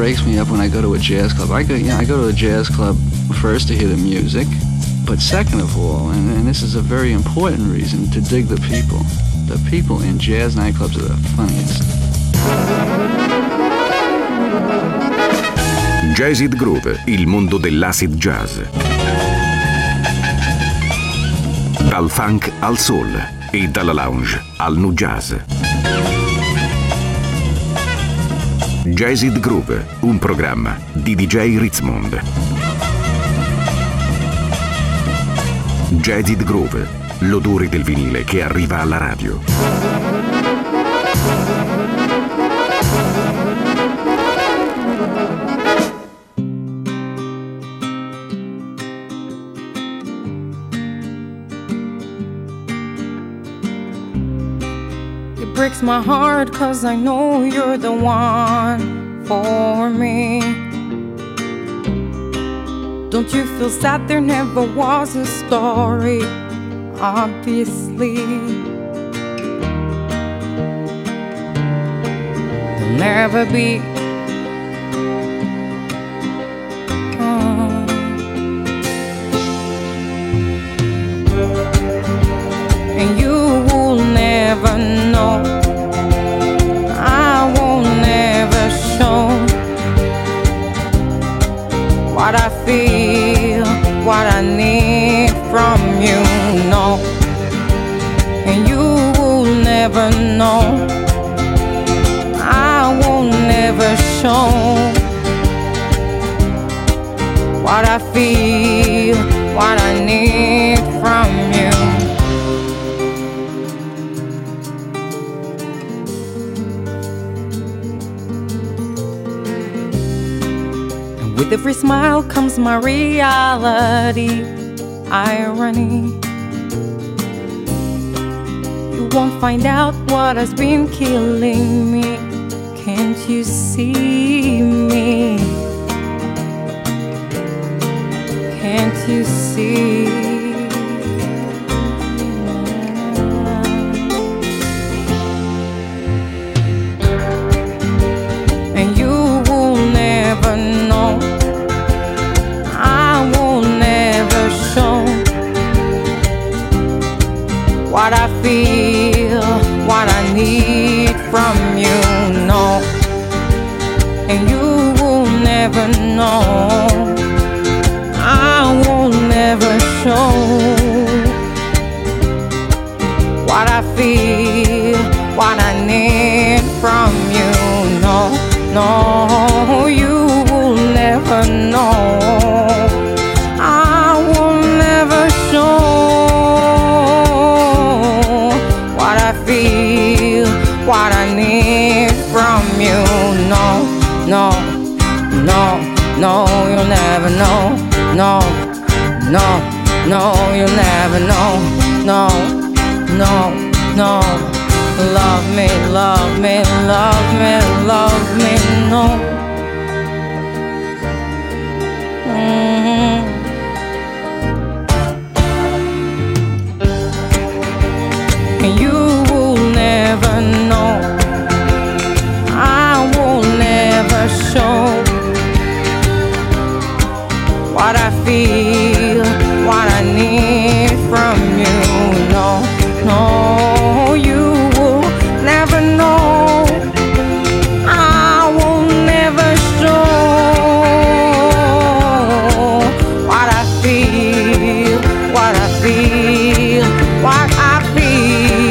breaks me up when I go to a jazz club. I go to a jazz club first to hear the music, but second of all, and this is a very important reason, to dig the people. The people in jazz nightclubs are the funniest. Jazzid Groove, il mondo dell'acid jazz. Dal funk al soul e dalla lounge al nu jazz. Jazzid Groove, un programma di DJ Ritzmond. Jazzid Groove, l'odore del vinile che arriva alla radio. It breaks my heart 'cause I know you're the one for me. Don't you feel sad there never was a story? Obviously there'll never be. And you will never know. I won't never show what I feel, what I need from you, no. And you will never know. I won't never show what I feel, what I need from you. With every smile comes my reality, irony. You won't find out what has been killing me. Can't you see me? Can't you see? And you will never know. What I feel, what I need from you, no. And you will never know. I will never show what I feel, what I need from you, no. No, you will never know. I will never show what I need from you, no, no, no, no, you'll never know, no, no, no, you'll never know, no, no, no, love me, love me, love me, love me, no. And you will never know. I will never show what I feel, what I need from you, no, no, you will never know. I will never show what I feel, what I feel, what I feel.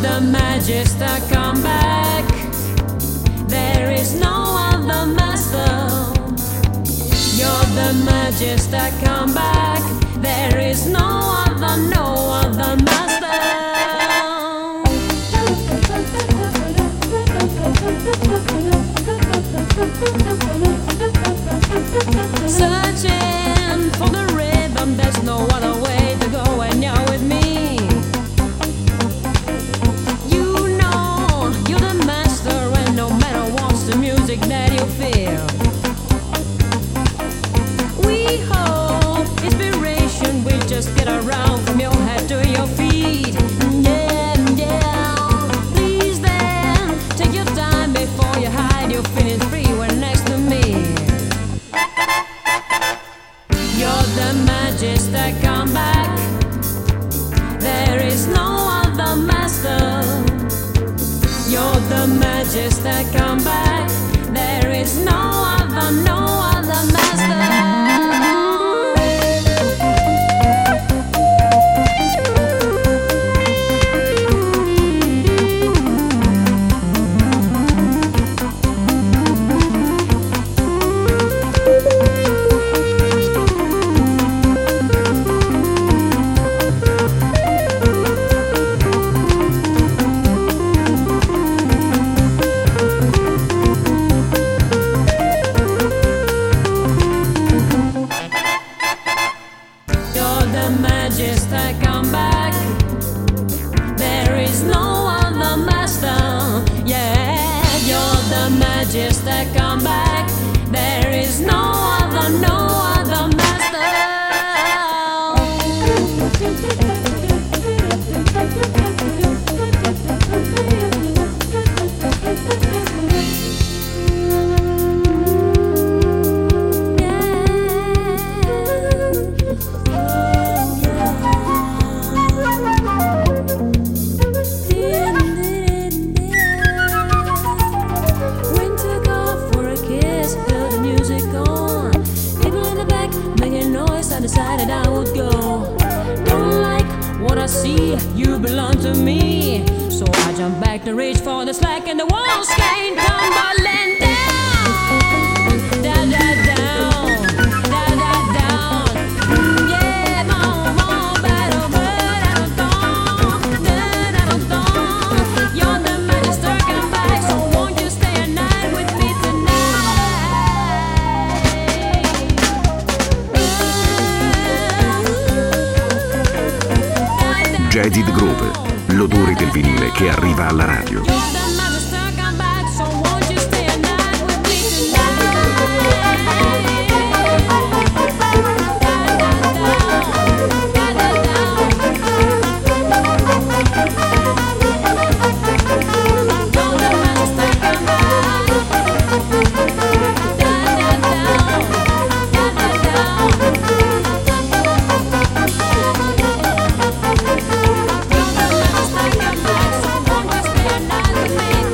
the Magister, come back. There is no other master. You're the Magister, come back. There is no other master. Searching for the rhythm, there's no other way to go when you're with me. You know you're the master, and no matter what's the music that you feel. We hold inspiration, we just get around from your head to your feet. Yeah, yeah. Please then, take your time before you hide. You'll feel free when next to me. You're the Magister, come back. There is no other master. You're the Magister, come back. There is no other master. Magister, come back. There is no other master. Yeah, you're the Magister, come back. There is no other master. Decided I would go. Don't like what I see, you belong to me. So I jump back to reach for the slack, and the walls came tumbling down. Down, down, down, down, down, down. Yeah, boom, boom, battle, battle, dawn, battle, dawn. You're the Magister, come back. So won't you stay a night with me tonight? Jaded Groove, l'odore del vinile che arriva alla radio. Come back, so won't you stay a night with me?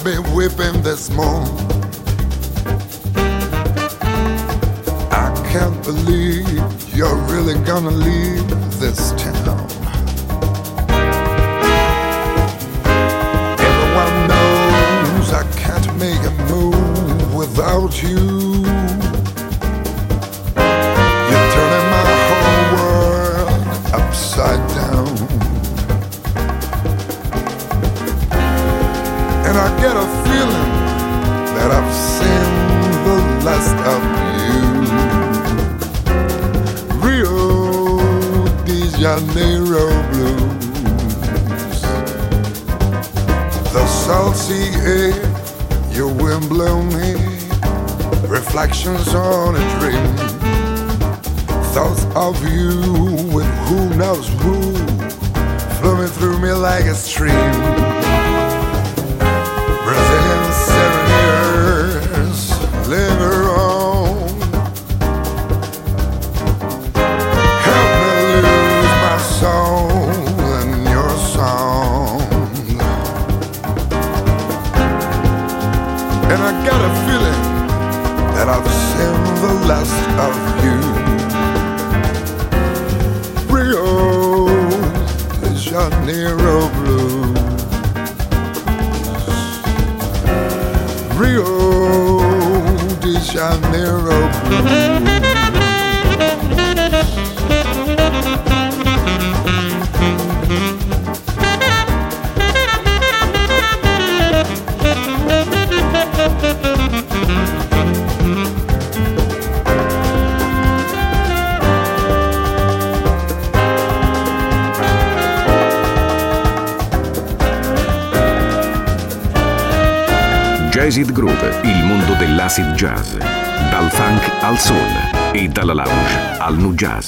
be weeping this moon. I can't believe you're really gonna leave this town. Everyone knows I can't make a move without you. You're turning my whole world upside down. And I get a feeling that I've seen the last of you. Rio de Janeiro blues. The salty air, your wind blow me. Reflections on a dream. Thoughts of you with who knows who, flowing through me like a stream. Brazilian serenaders linger on. Help me lose my soul in your song. And I got a feeling that I've seen the last of you. Rio de Janeiro blues. Rio de Janeiro blues. Jazzid Groove, il mondo dell'acid jazz. Dal funk al soul e dalla lounge al nu jazz.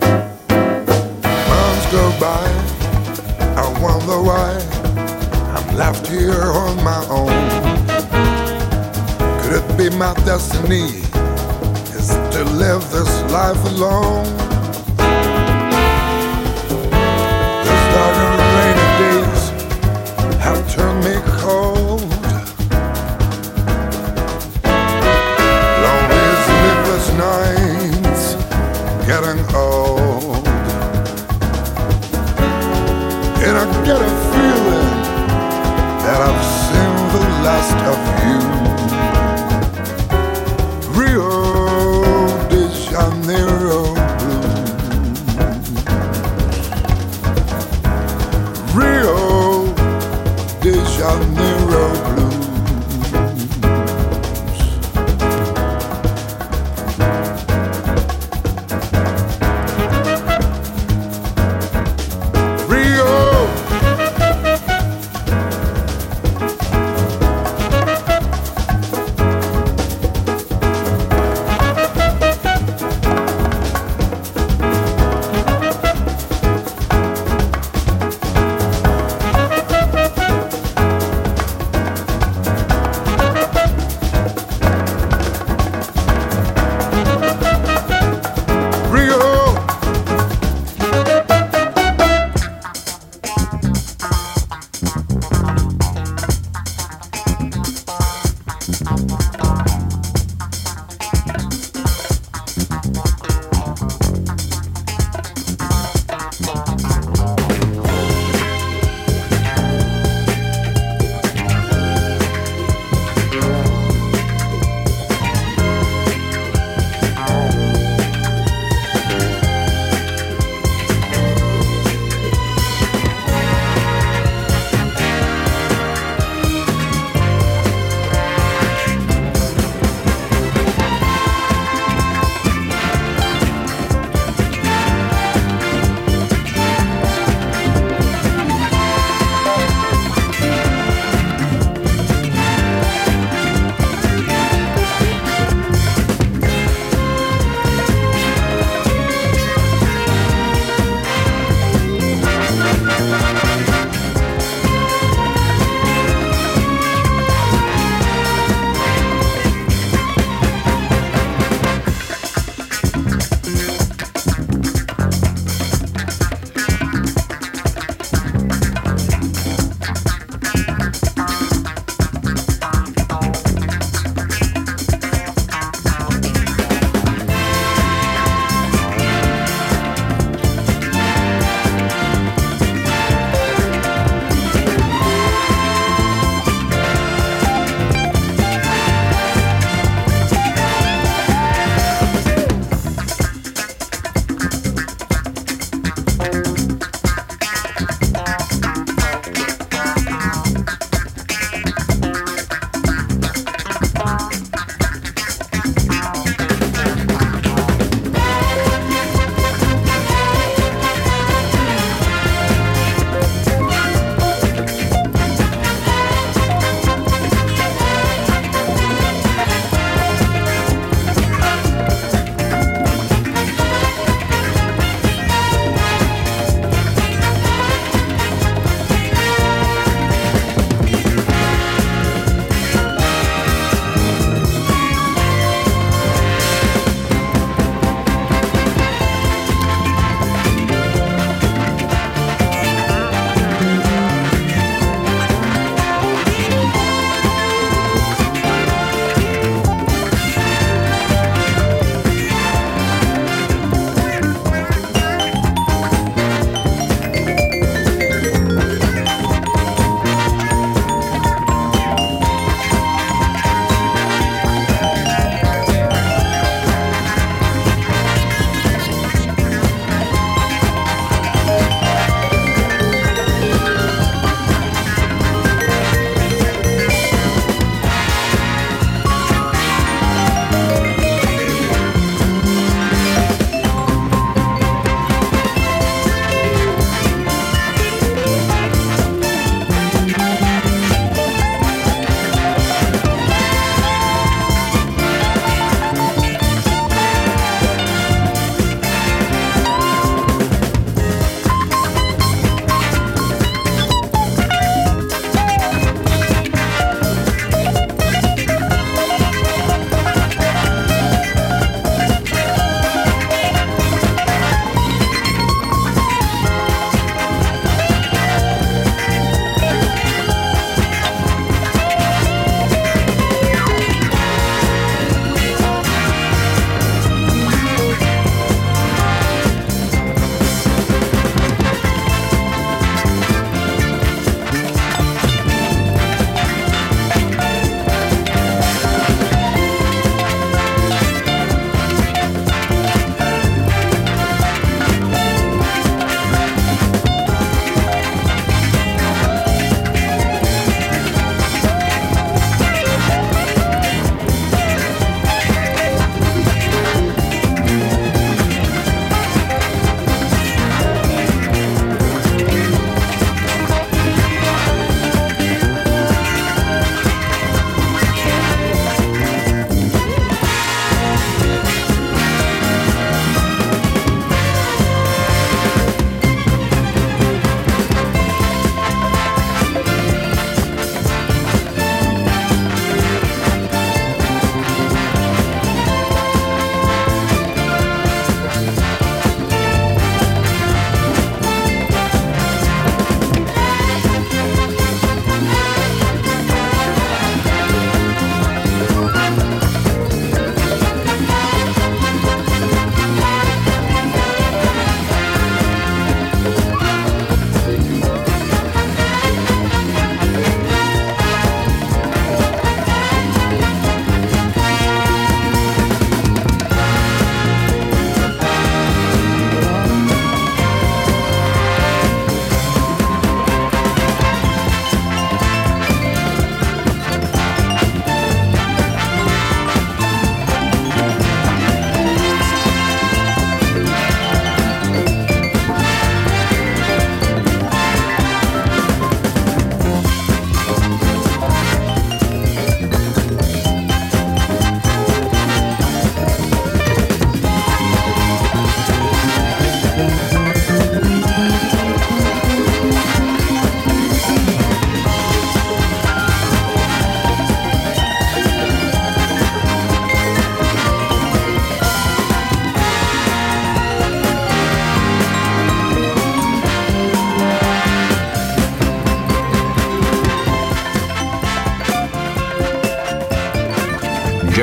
Months go by, I wonder why I'm left here on my own. Could it be my destiny is to live this life alone? These dark and rainy days have turned me cold. Nights getting old, and I get a feeling that I've seen the last of you. Rio de Janeiro blues. Rio de Janeiro blues.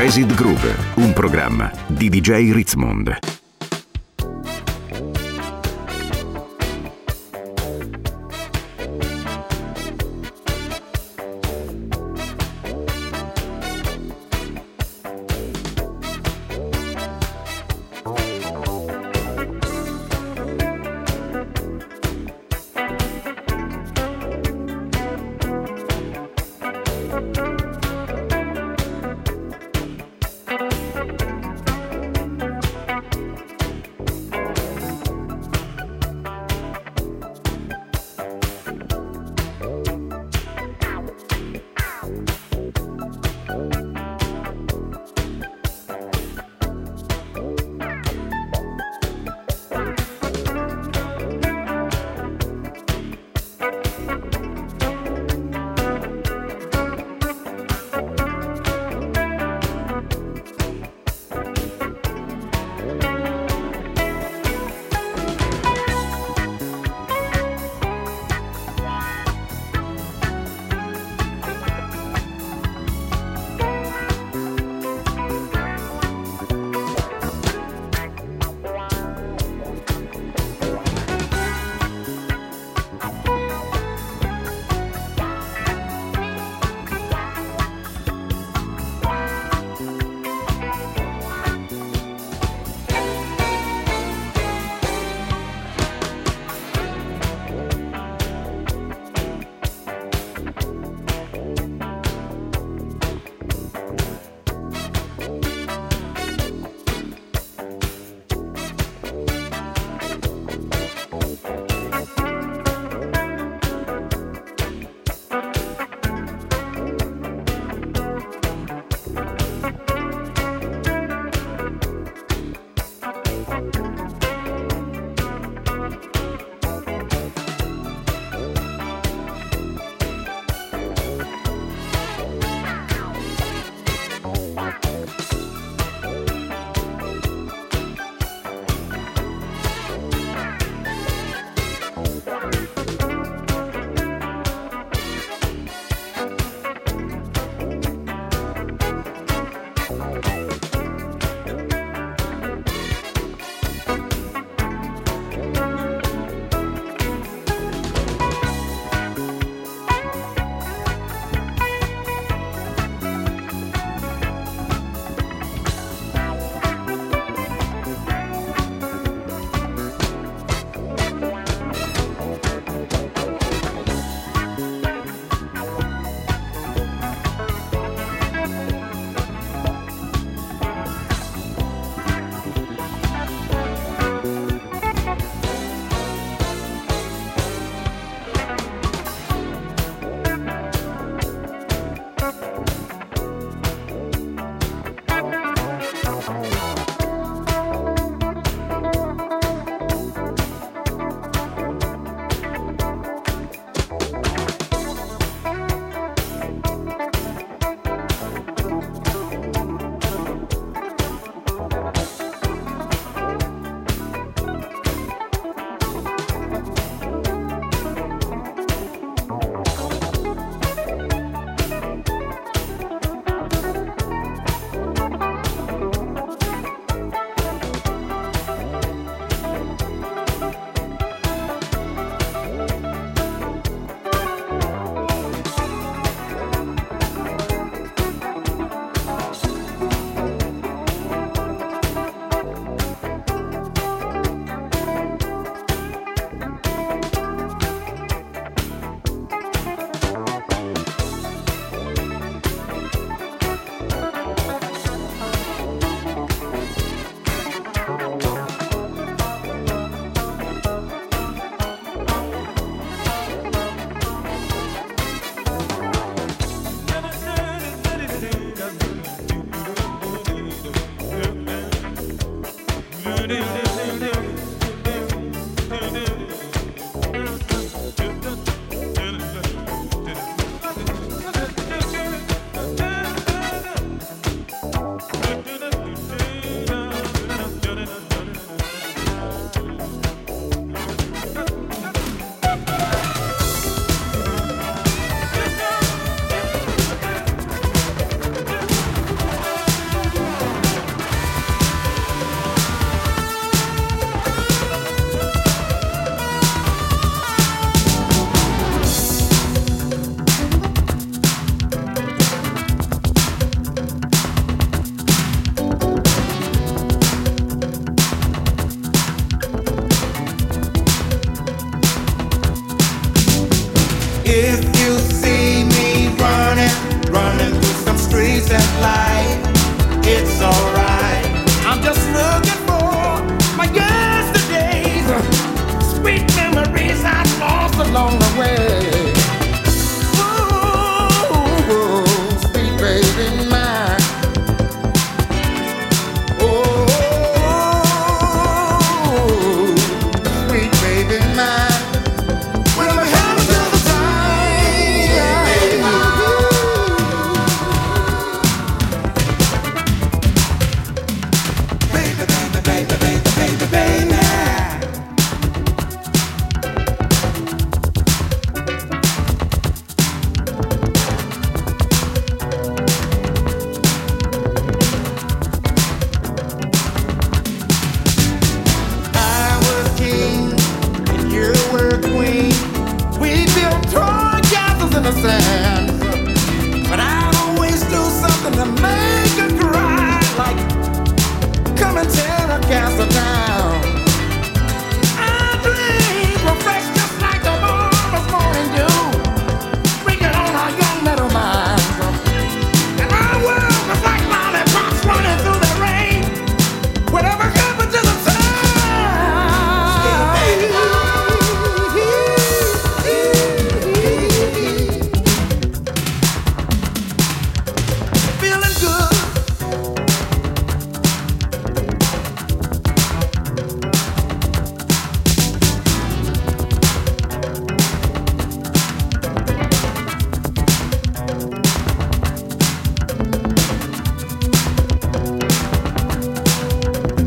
Jazzed Groove, un programma di DJ Ritzmond.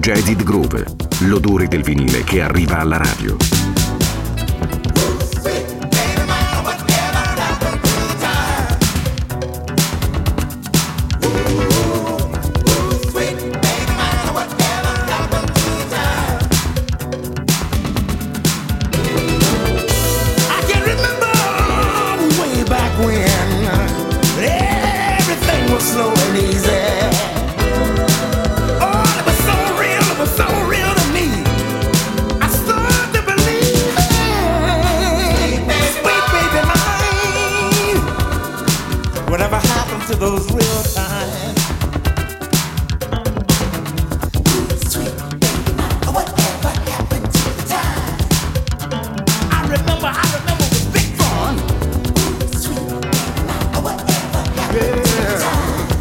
Jaded Groove, l'odore del vinile che arriva alla radio. Slow and easy. Oh, it was so real to me. I started to believe it. Sweet baby mine. Whatever happened to those real times? Sweet baby mine. Whatever happened to the time? I remember it was big fun. Sweet baby mine. Whatever happened to the time?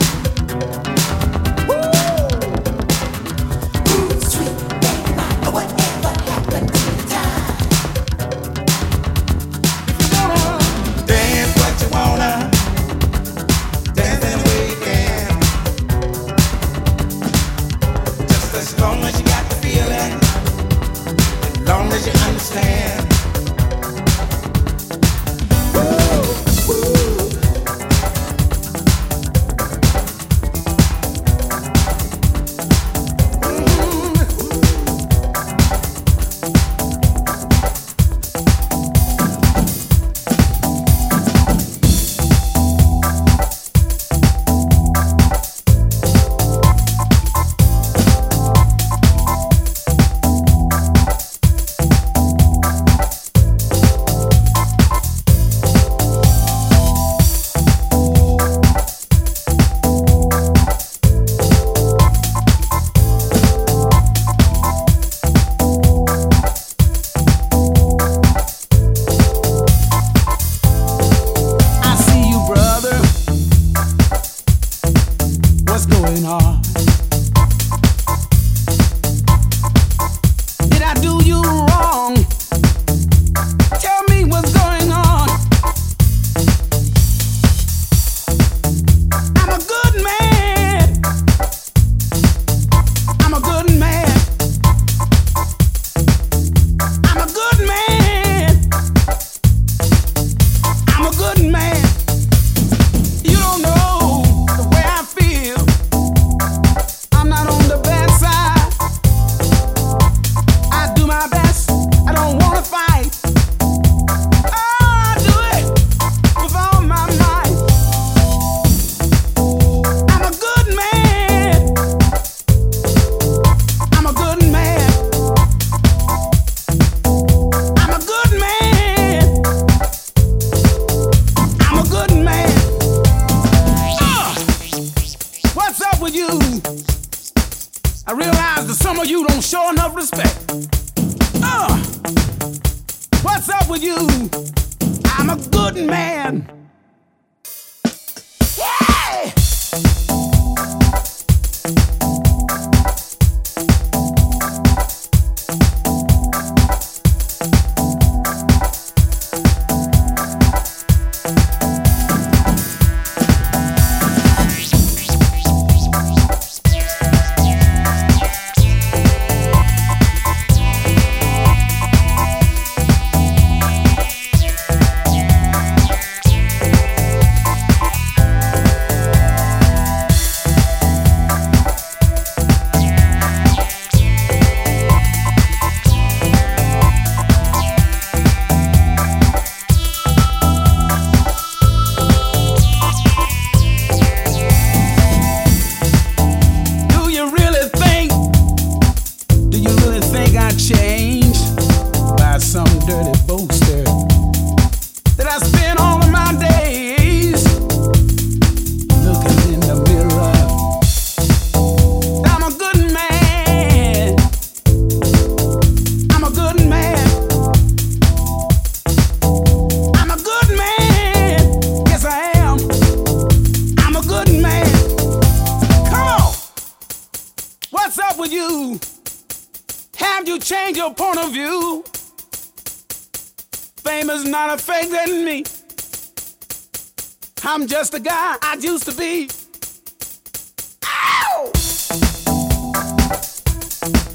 Change your point of view. Fame is not a fake in me. I'm just a guy I used to be. Ow!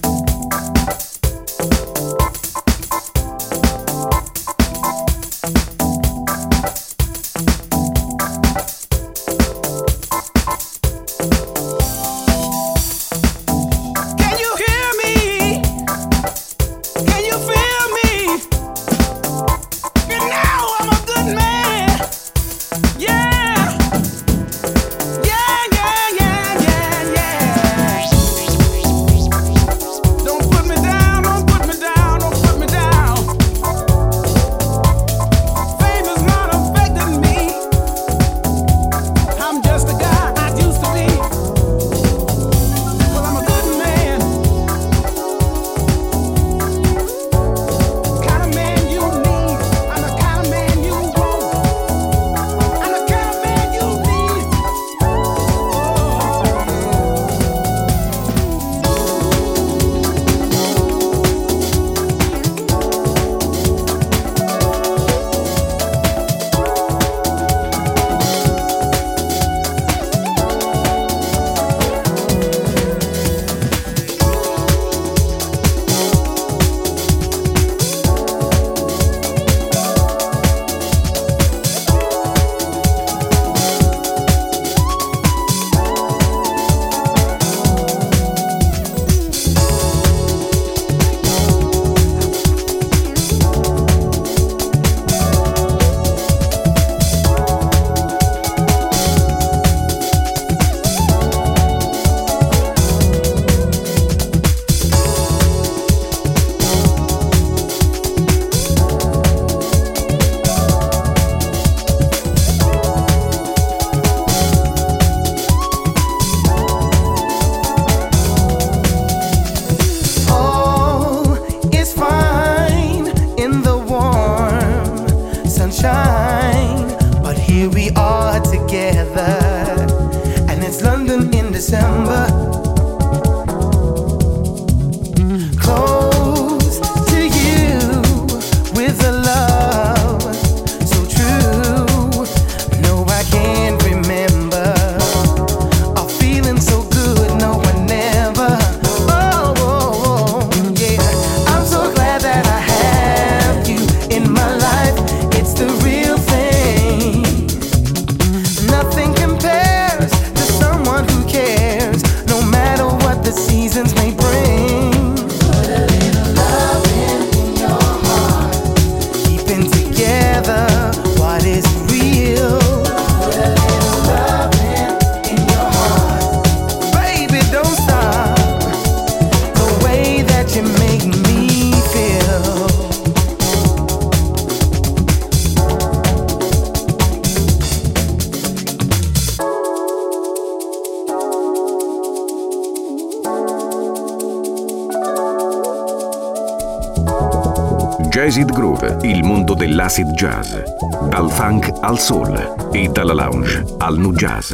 Jazzid Groove, il mondo dell'acid jazz. Dal funk al soul e dalla lounge al nu jazz.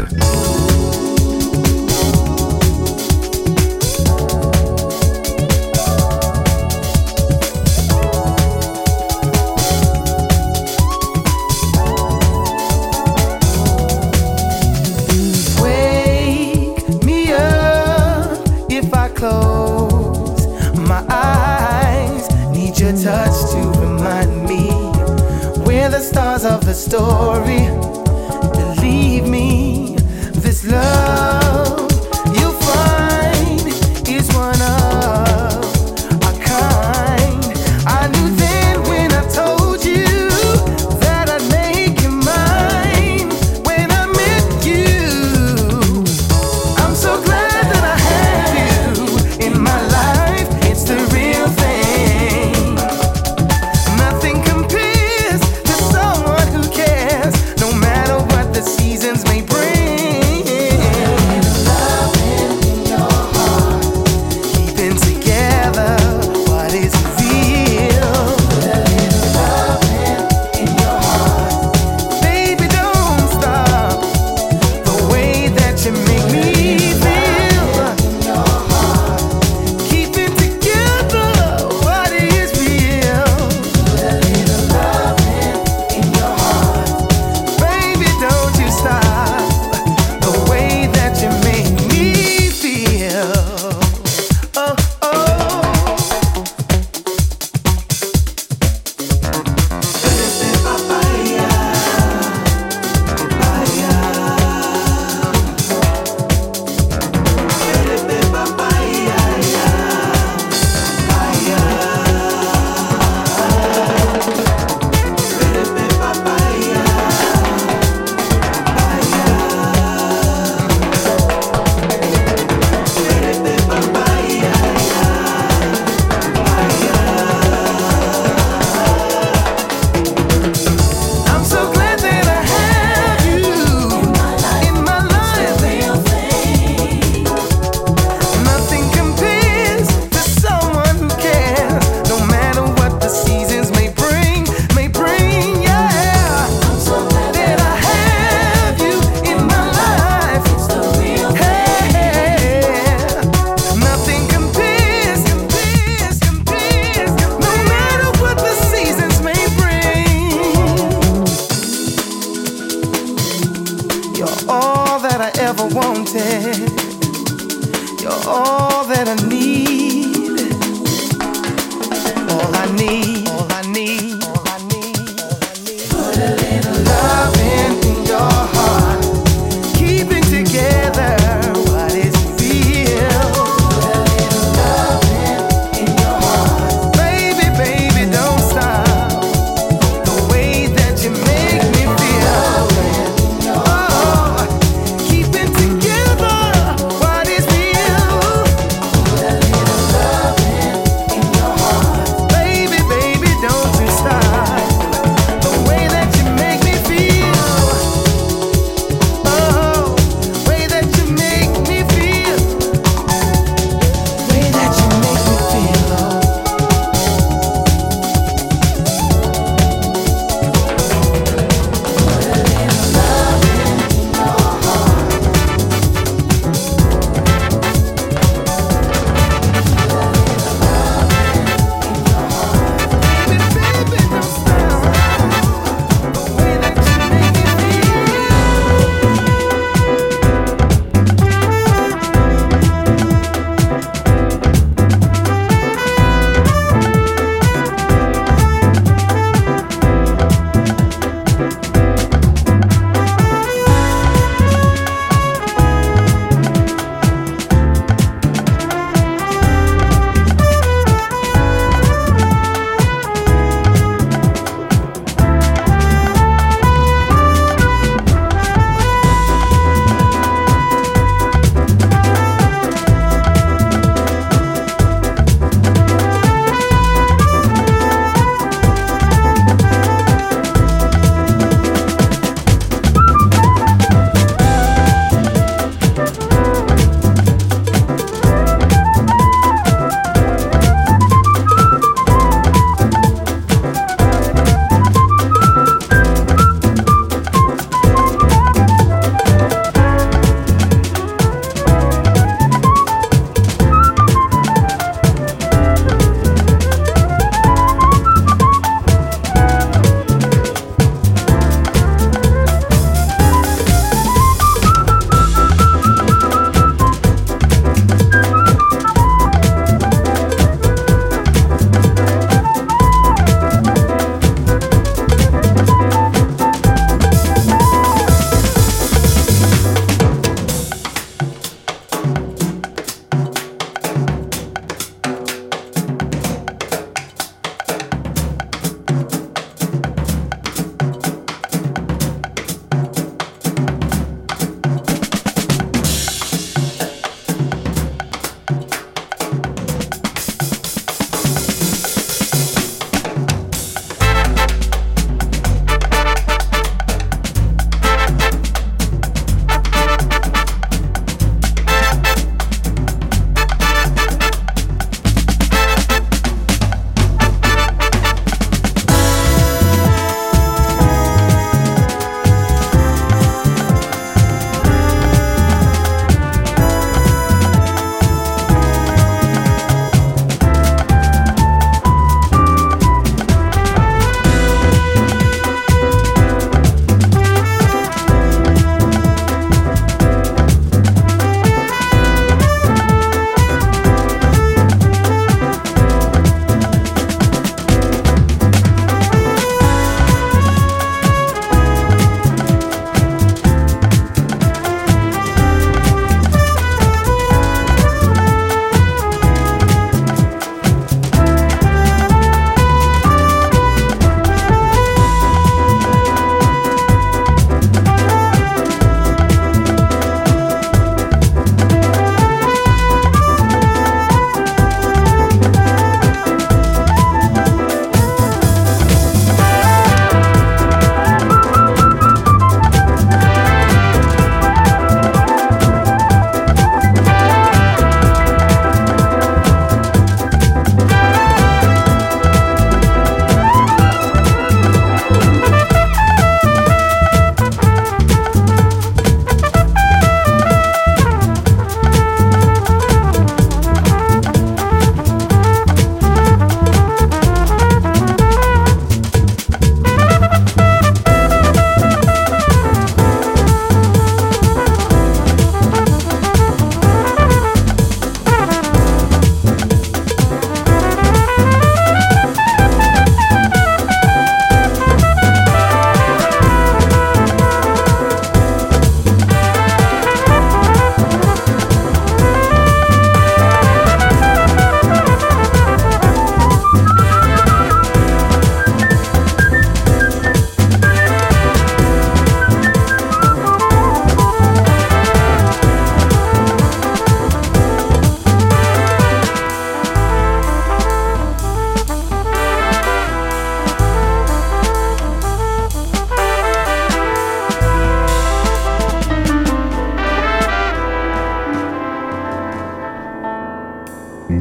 Touch to remind me we're the stars of the story. Believe me, this love you'll find is one of a kind. I knew then when I told you that I'd make you mine. When I met you, I'm so glad that I have you in my life. It's the real thing. Stop.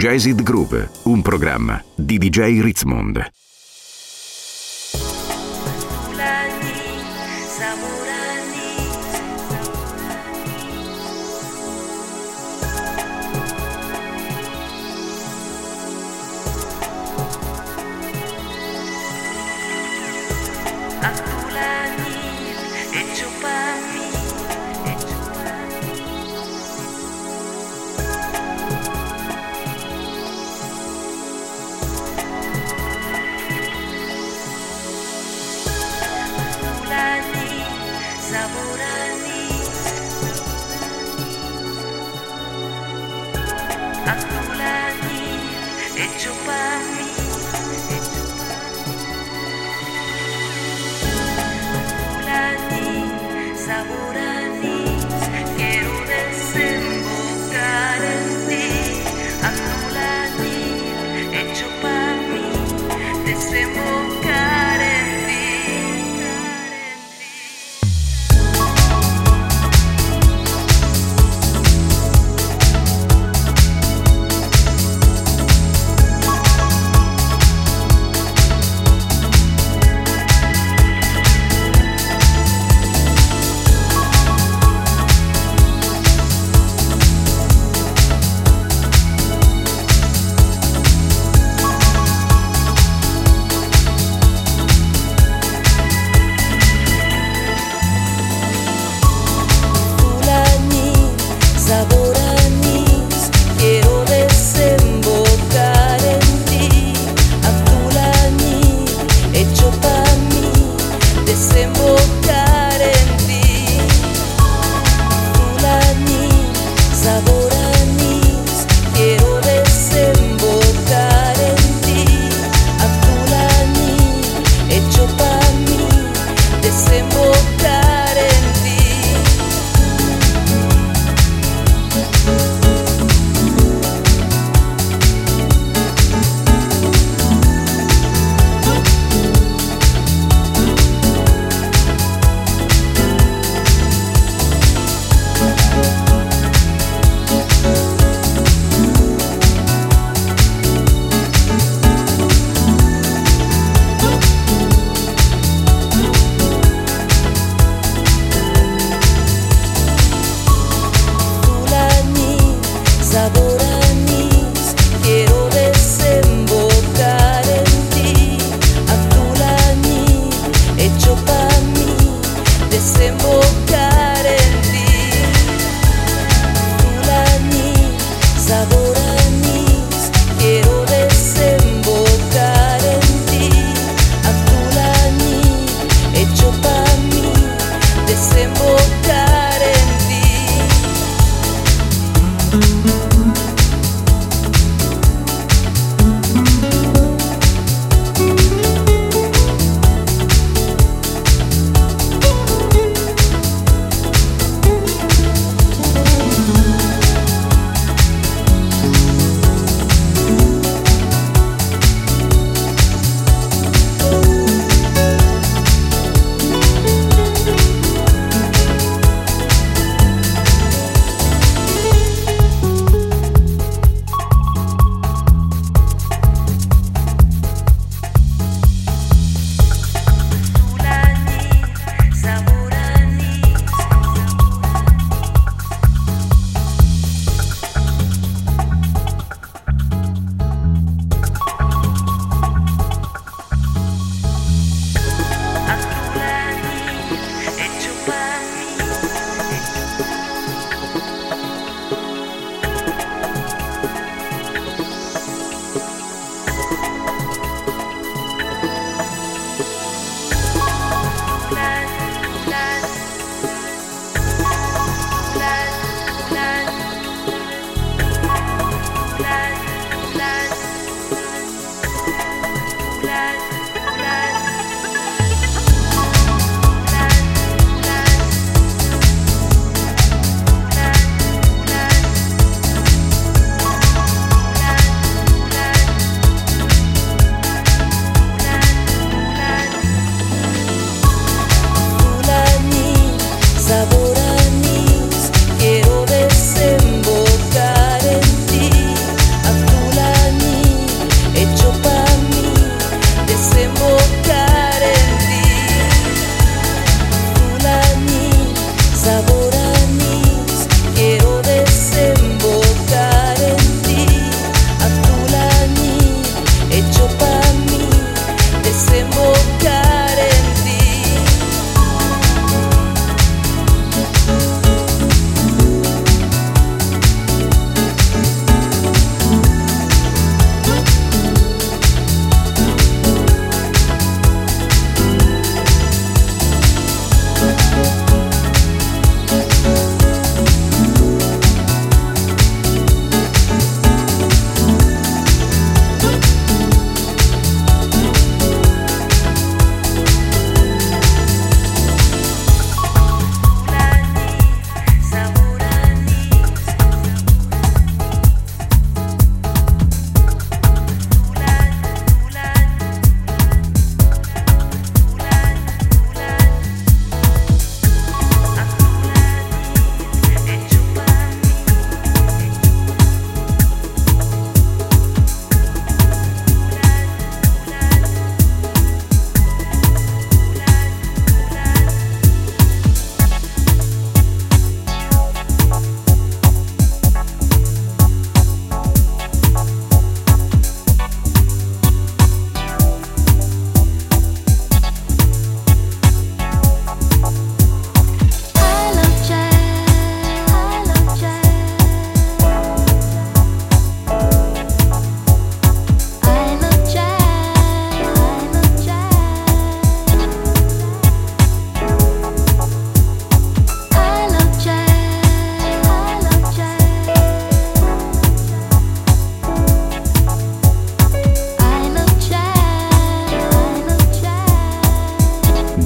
Jazzid Groove, un programma di DJ Ritzmond.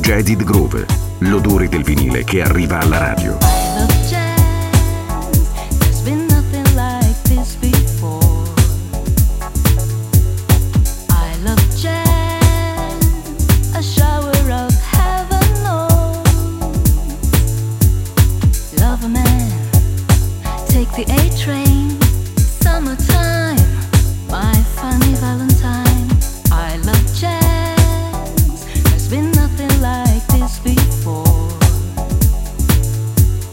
Jazzed Groove, l'odore del vinile che arriva alla radio. The A train, summertime, my funny Valentine. I love jazz. There's been nothing like this before.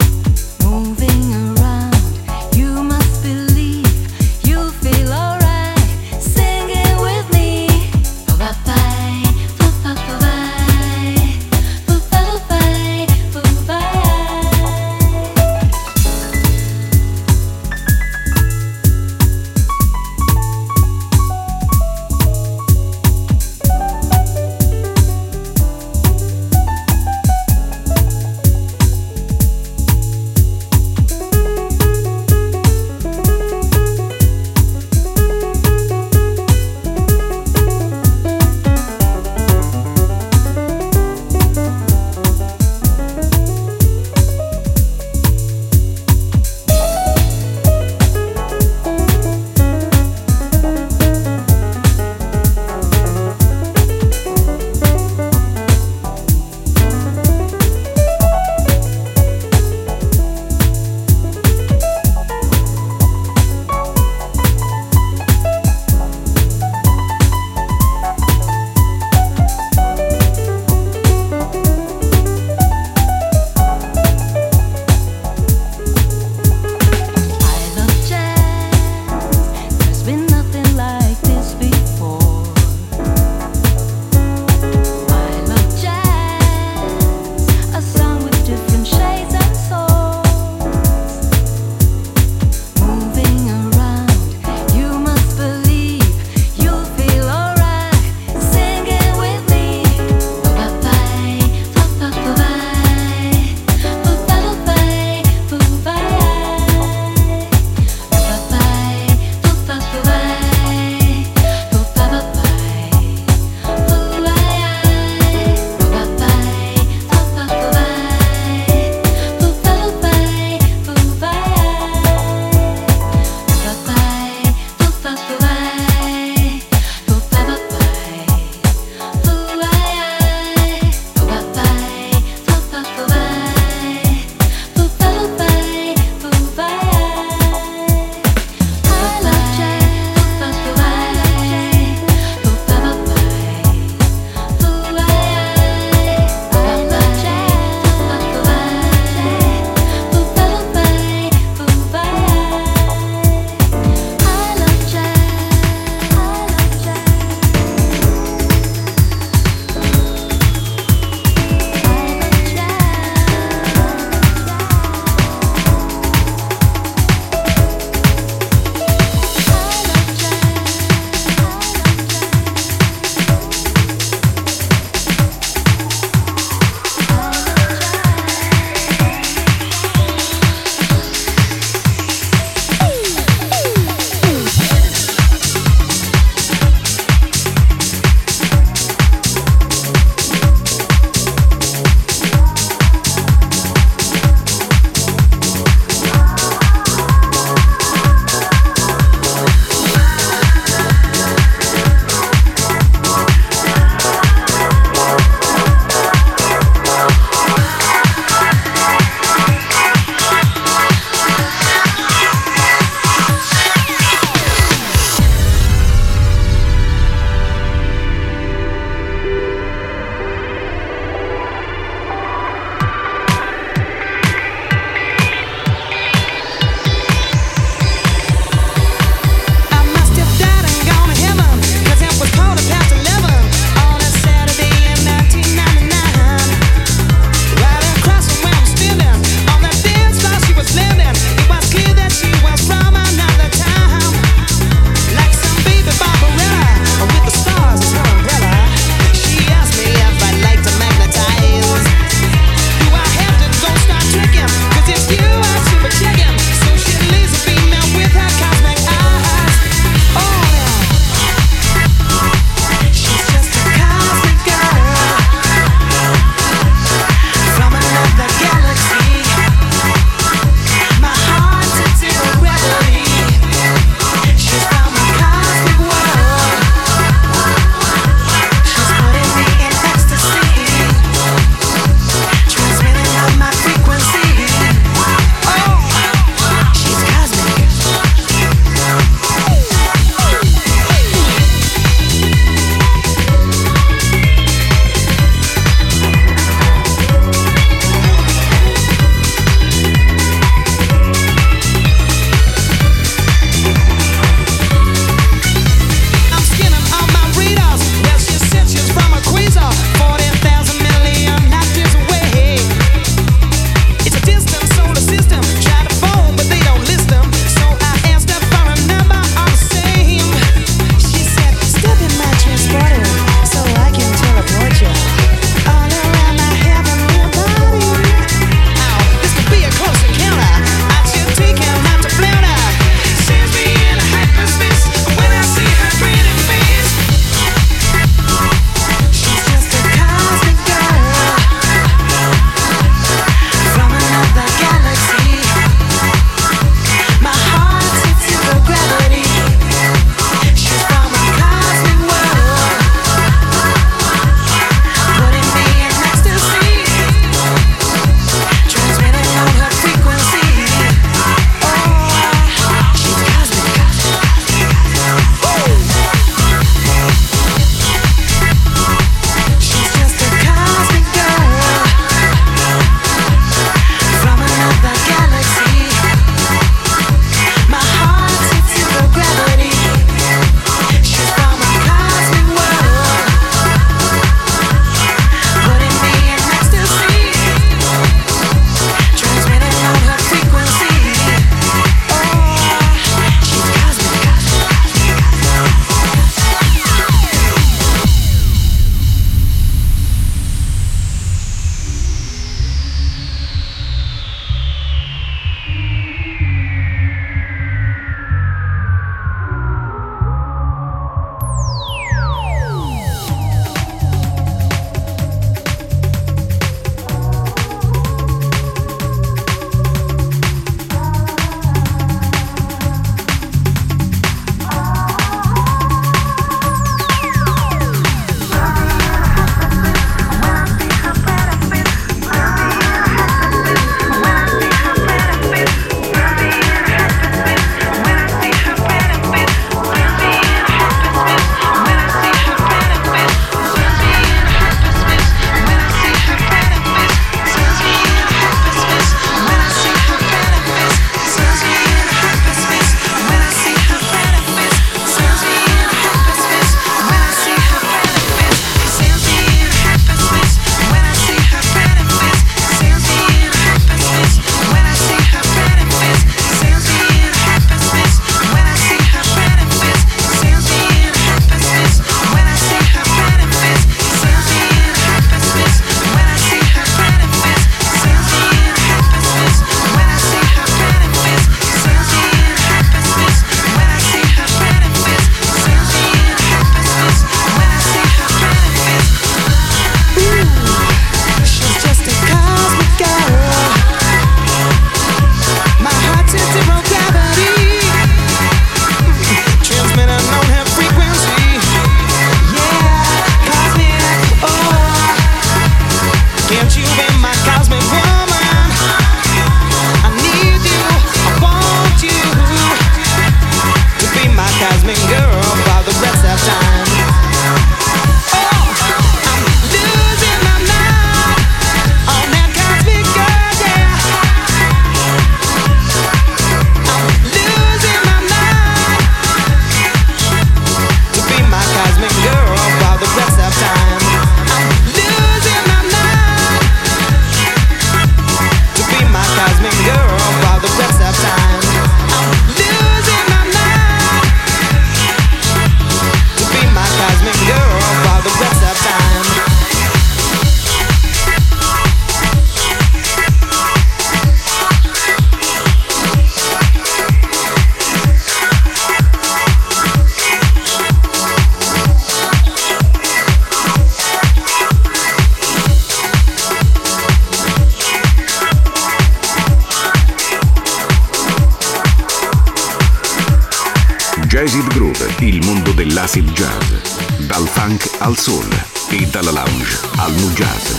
dell'acid jazz, dal funk al soul e dalla lounge al nu jazz.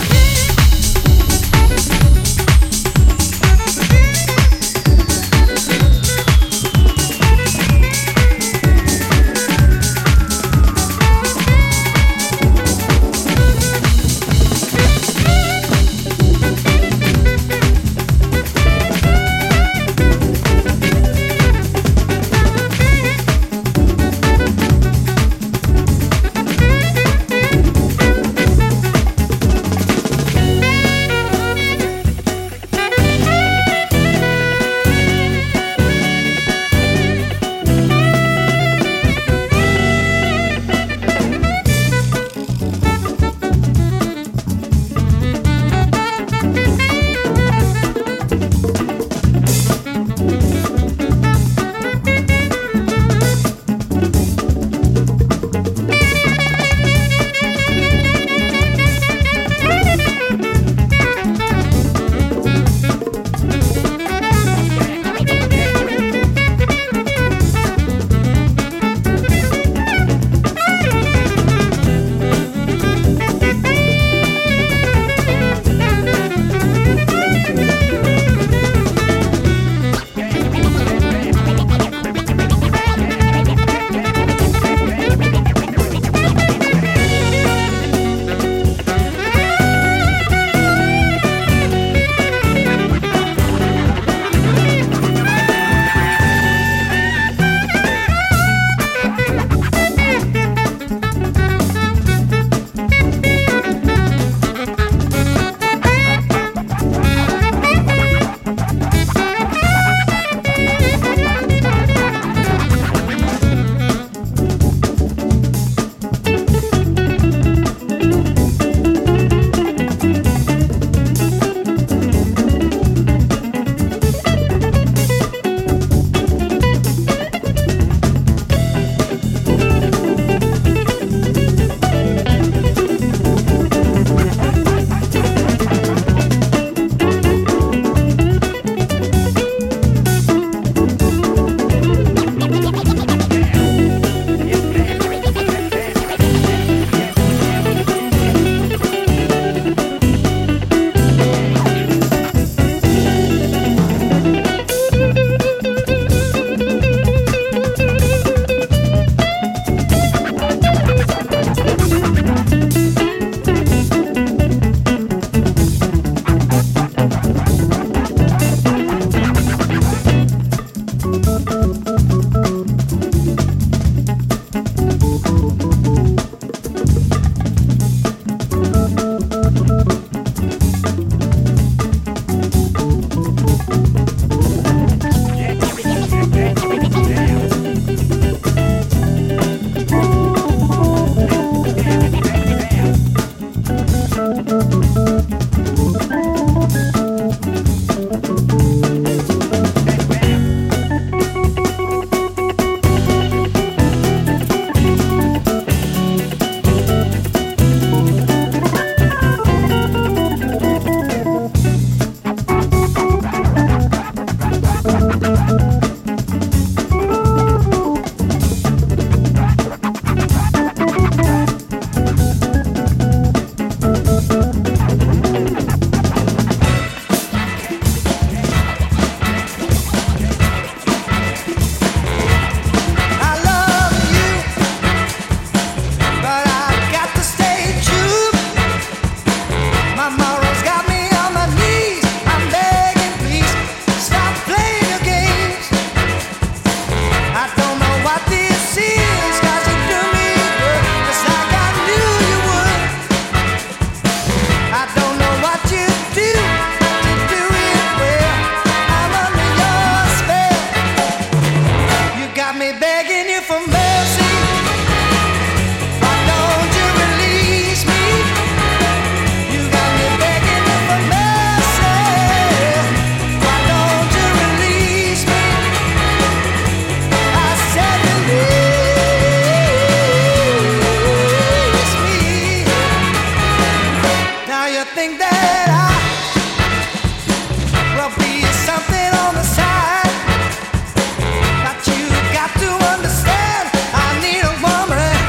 Got to understand, I need a woman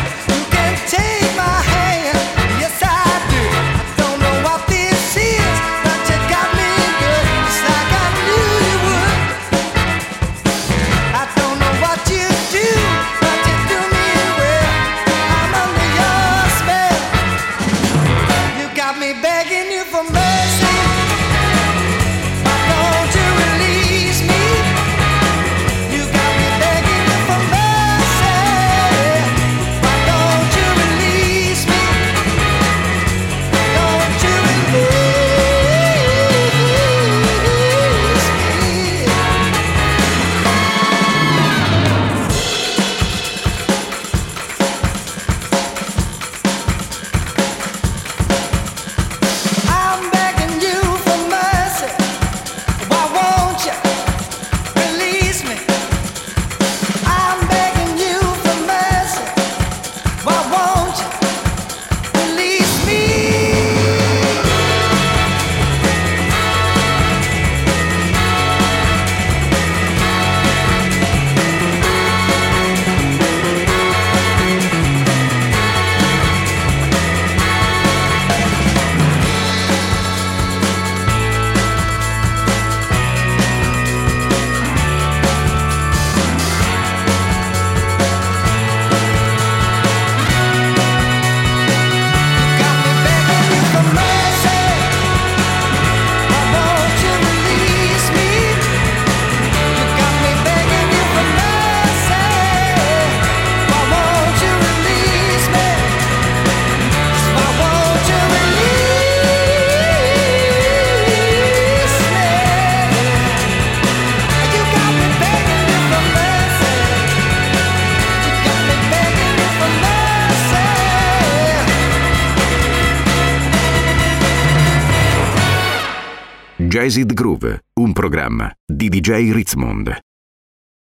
Jazzed Groove, un programma di DJ Ritzmond.